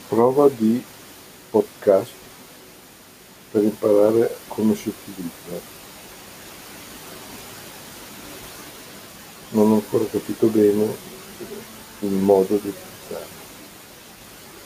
Prova di podcast per imparare come si utilizza. Non ho ancora capito bene il modo di